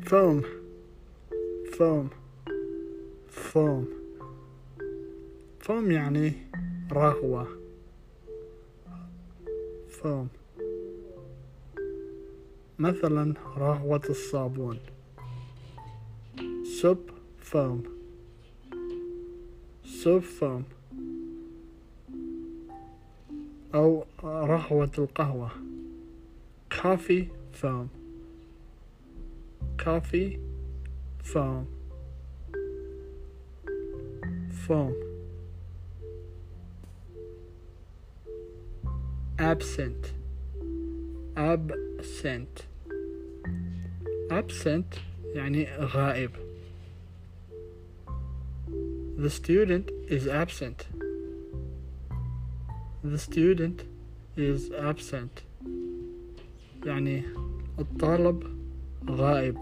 foam foam foam foam يعني رغوة. foam مثلا رغوة الصابون. soup foam soup foam أو رغوة القهوة. coffee foam coffee foam foam absent absent absent يعني غائب. the student is absent the student is absent يعني الطالب غائب.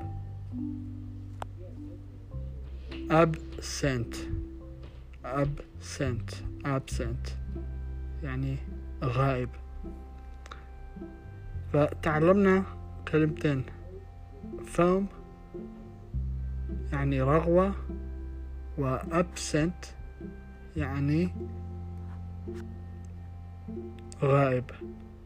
absent absent absent يعني غائب. فتعلمنا كلمتين foam يعني رغوة و absent يعني غائب.